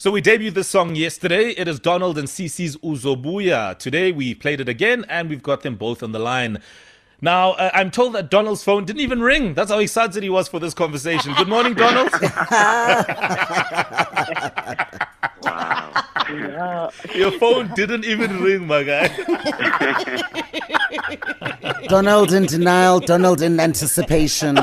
So we debuted this song yesterday. It is Donald and Cece's Uzobuya. Today we played it again and we've got them both on the line. Now, I'm told that Donald's phone didn't even ring. That's how excited he was for this conversation. Good morning, Donald. Wow. Your phone didn't even ring, my guy. Donald in denial, Donald in anticipation.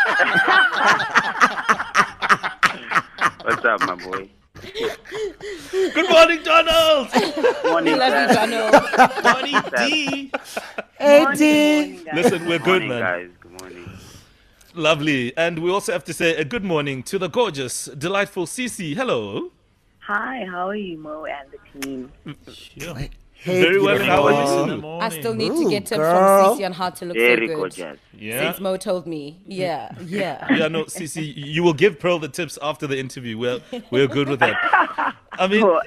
What's up, my boy? Good morning, Donald. Morning, Love you, guys. Donald. Morning, D. Eddie. Listen, we're good, Morning, man. guys. Good morning. Lovely. And we also have to say a good morning to the gorgeous, delightful Cece. Hello. Hi, how are you, Mo, and the team? Hey, Very well, and how are you? I still need to Ooh, get tips girl. from Cece on how to look Very so good. gorgeous. Yeah. Since Mo told me. Yeah. Yeah, no, Cece, you will give Pearl the tips after the interview. We're good with that. I mean, Oh,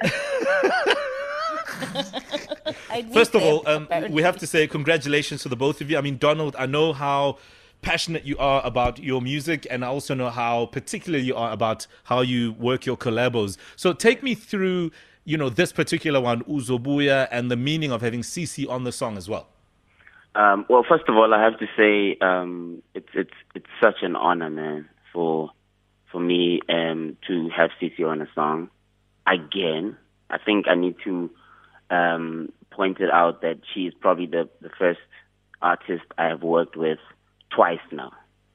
I need first of them, all, apparently. we have to say congratulations to the both of you. I mean, Donald, I know how passionate you are about your music, and I also know how particular you are about how you work your collabos. So take me through, this particular one, Uzobuya, and the meaning of having Cece on the song as well. Well, first of all, I have to say it's such an honor, man, for me to have Cece on a song again. I think I need to point it out that she is probably the first artist I have worked with twice now,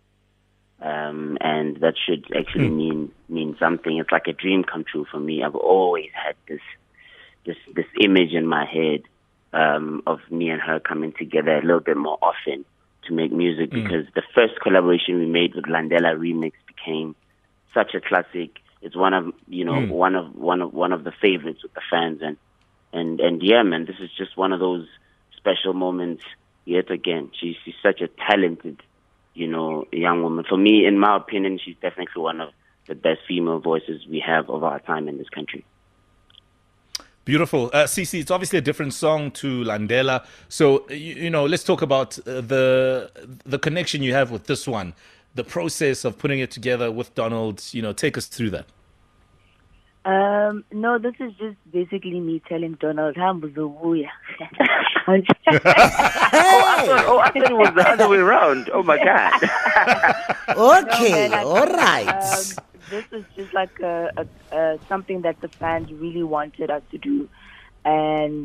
and that should actually mean something. It's like a dream come true for me. I've always had this image in my head of me and her coming together a little bit more often to make music, because the first collaboration we made with Landela Remix became such a classic. It's one of one of the favorites with the fans, and yeah, man, this is just one of those special moments yet again. She's such a talented, young woman. For me, in my opinion, she's definitely one of the best female voices we have of our time in this country. Beautiful. Cece, it's obviously a different song to Landela. So, let's talk about the connection you have with this one, the process of putting it together with Donald. Take us through that. no, this is just basically me telling Donald, Hambuzubuya. I thought it was the other way around. Oh my God. Okay, all right. This is just like something that the fans really wanted us to do. And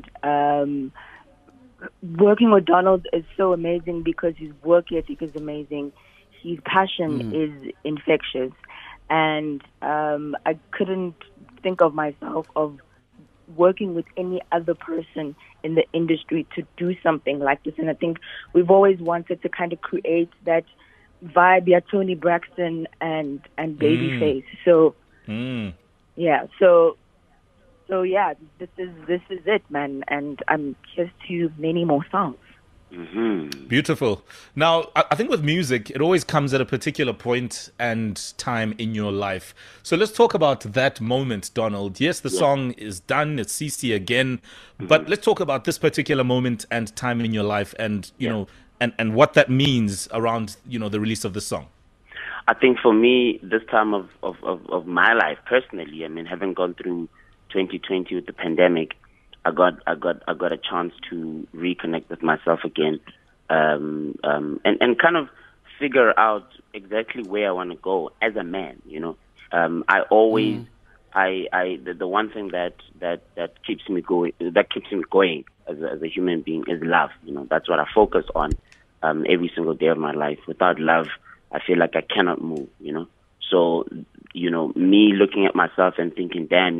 working with Donald is so amazing because his work ethic is amazing. His passion is infectious. And I couldn't think of myself of working with any other person in the industry to do something like this. And I think we've always wanted to kind of create that vibe, yeah, Tony Braxton and Babyface. So yeah, so yeah, this is it, man. And here's to many more songs. Beautiful. Now, I think with music, it always comes at a particular point and time in your life. So let's talk about that moment, Donald. Yes, the song is done. It's Cece again. But let's talk about this particular moment and time in your life and, and what that means around, the release of the song. I think for me, this time of my life personally, I mean, having gone through 2020 with the pandemic, I got a chance to reconnect with myself again, and kind of figure out exactly where I want to go as a man. I always, the one thing that keeps me going, as a human being is love. That's what I focus on every single day of my life. Without love, I feel like I cannot move. So me looking at myself and thinking, damn,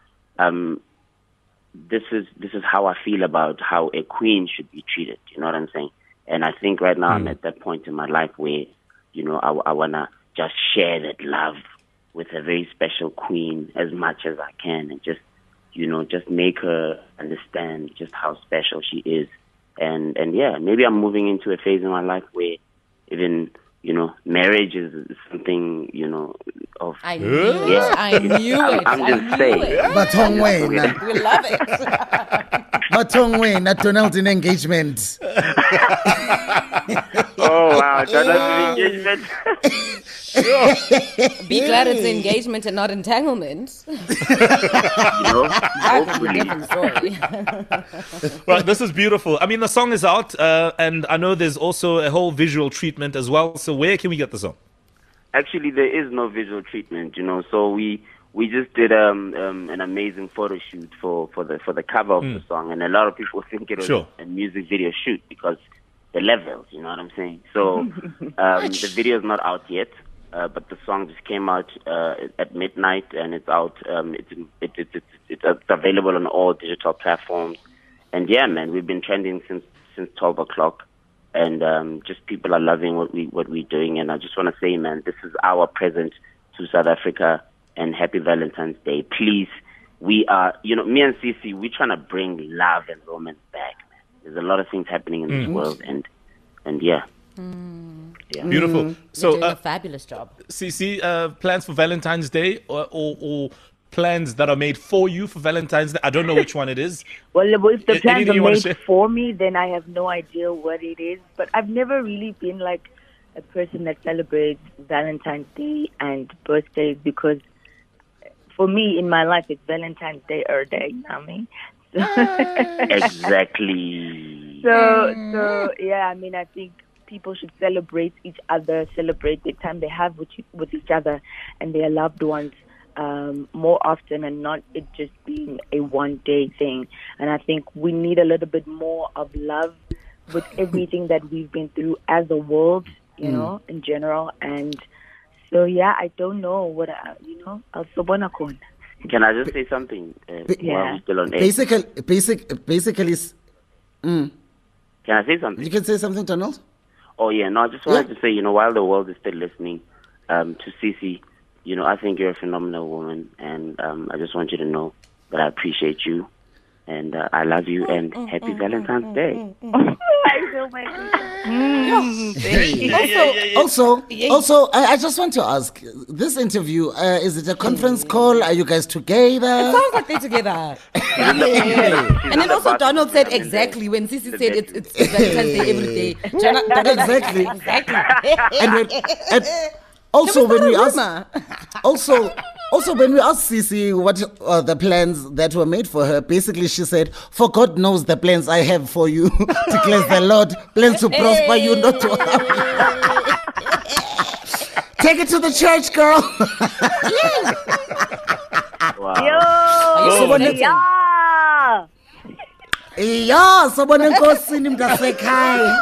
this is how I feel about how a queen should be treated. You know what I'm saying? And I think right now I'm at that point in my life where, I wanna just share that love with a very special queen as much as I can, and just make her understand just how special she is. And yeah, maybe I'm moving into a phase in my life where even marriage is something, of... I knew it. I knew it. I'm just saying. Matongwena. We love it. Matongwena, Donald in engagement. Oh, wow. Donald's engagement. Be glad it's engagement and not entanglement. That's a different story. Right, this is beautiful. I mean, the song is out, and I know there's also a whole visual treatment as well. So where can we get the song? Actually, there is no visual treatment, so we just did an amazing photo shoot for the cover of the song, and a lot of people think it was a music video shoot because the levels, you know what I'm saying? So the video is not out yet, but the song just came out at midnight, and it's out. It's available on all digital platforms, and yeah, man, we've been trending since 12 o'clock. And just people are loving what we're doing, and I just want to say, man, this is our present to South Africa, and happy Valentine's Day. Please, we are, me and Cece, we're trying to bring love and romance back, man. There's a lot of things happening in this world, and yeah. Yeah. Beautiful. So doing a fabulous job. Cece, plans for Valentine's Day or plans that are made for you for Valentine's Day? I don't know which one it is. Well, if the plans Anything are you wanna made share? for me, then I have no idea what it is. But I've never really been like a person that celebrates Valentine's Day and birthdays, because for me, in my life, it's Valentine's Day or day, you know what I mean? Exactly. So yeah, I mean, I think people should celebrate each other, celebrate the time they have with each other and their loved ones more often, and not it just being a one-day thing. And I think we need a little bit more of love with everything that we've been through as a world, in general. And so, yeah, I don't know what, I'll sobona khona. Can I just say something? While we're still on air? Basically, Can I say something? you can say something, Donald? Oh, yeah. No, I just wanted to say, while the world is still listening to Cece, I think you're a phenomenal woman, and I just want you to know that I appreciate you, and I love you, and happy Valentine's Day. I feel my Also, I just want to ask, this interview, is it a conference call? Are you guys together? Sounds like they're together. And then also Donald said exactly when Sissy said it's Valentine's Day every day. Exactly. Exactly. Also, when we asked Cece what are the plans that were made for her, basically she said, "For God knows the plans I have for you," declares the Lord, plans to prosper you, not to harm you. Take it to the church, girl. Wow. Yeah, sobona enkosini mntasekhaya.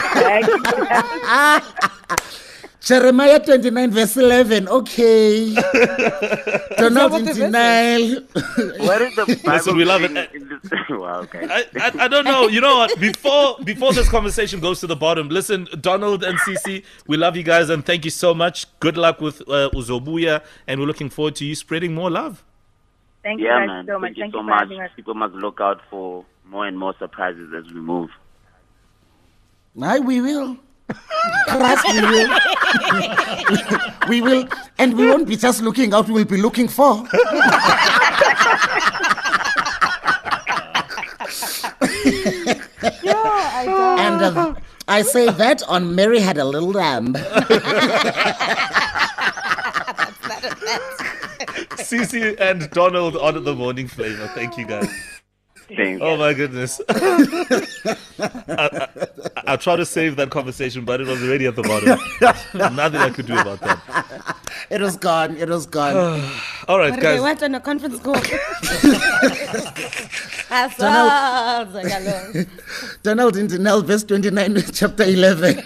Jeremiah 29 verse 11. Okay. Donald in denial. Where is the Bible? Listen, we love it. Wow, okay. I don't know. You know what? Before this conversation goes to the bottom, listen, Donald and Cece, we love you guys and thank you so much. Good luck with Uzobuya, and we're looking forward to you spreading more love. Thank you Yeah, guys man. so much. Thank you Thank so you for much. having us. People must look out for more and more surprises as we move. Aye, we will. Trust, we will. We will. And we won't be just looking out, we will be looking for. And I say that on Mary Had a Little Lamb. Cece and Donald on the morning flavor. Thank you guys. Thanks. Oh my goodness. I tried to save that conversation, but it was already at the bottom. Nothing I could do about that. It was gone. It was gone. All right, But guys. they went on a conference call. Donald in Daniel, verse 29, chapter 11.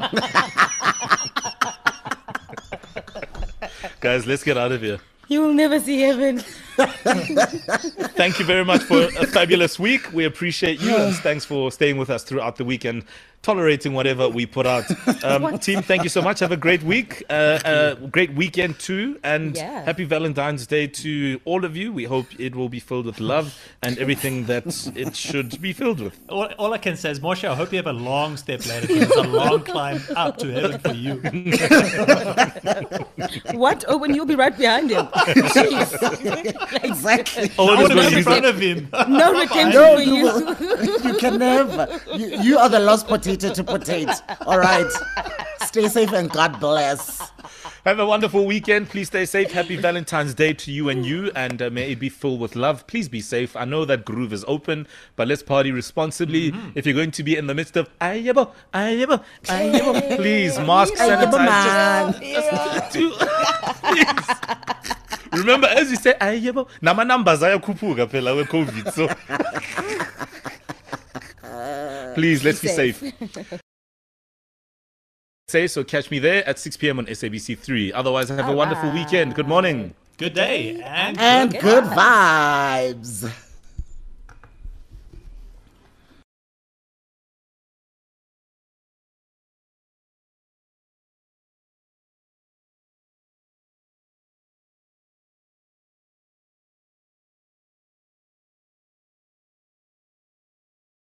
Guys, let's get out of here. You will never see heaven. Thank you very much for a fabulous week. We appreciate you, and thanks for staying with us throughout the week and tolerating whatever we put out. Team, thank you so much. Have a great week, great weekend too, and Yeah. happy Valentine's Day to all of you. We hope it will be filled with love and everything that it should be filled with. All I can say is, Moshe, I hope you have a long step later. It's a long climb up to heaven for you. What? Oh, when you'll be right behind him. Jeez. Exactly. Oh, I it is want to going be to in be front of him. No redemption No, for you. you can never. You are the lost potato to potato. All right. Stay safe and God bless. Have a wonderful weekend. Please stay safe. Happy Valentine's Day to you and you, and may it be filled with love. Please be safe. I know that groove is open, but let's party responsibly. If you're going to be in the midst of ayebo, please mask, sanitize. Please. Remember, as you say, ayebo, nama numbers ayakhuphuka phela with COVID. So please, let's be safe. So catch me there at 6 p.m. on SABC3. Otherwise, have a wonderful weekend. Good morning. Good day. And good vibes.